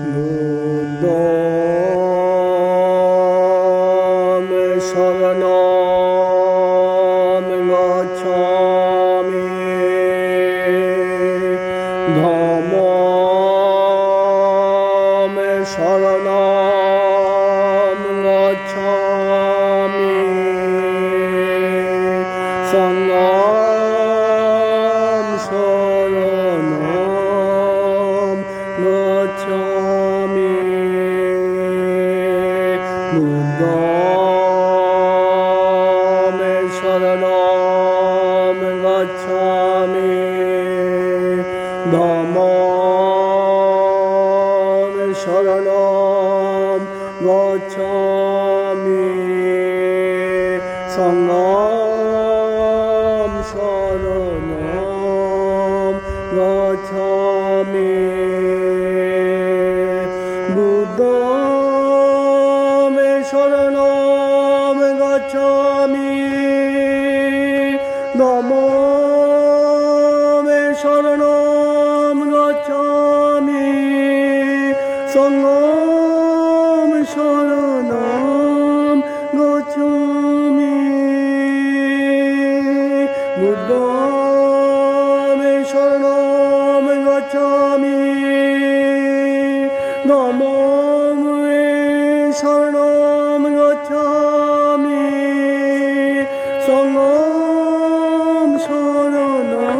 বুদ্ধং শরণং গচ্ছামি ধম্মং শরণং গচ্ছামি সংঘং শরণং গচ্ছামি বুদ্ধং শরণং গচ্ছামি ধম্মং শরণং গচ্ছামি সংঘং শরণং গচ্ছামি বুদ্ধং শরণং গচ্ছামি ধম্মং শরণং গচ্ছামি সংঘং শরণং গচ্ছামি বুদ্ধং শরণং গচ্ছামি ধম্মং শরণং গচ্ছামি সংঘং শরণং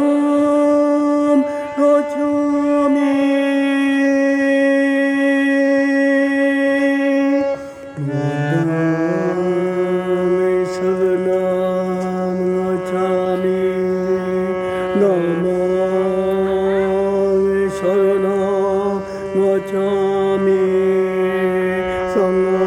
গচ্ছামি বুদ্ধং শরণং গচ্ছামি ধম্মং শরণং গচ্ছামি সংঘং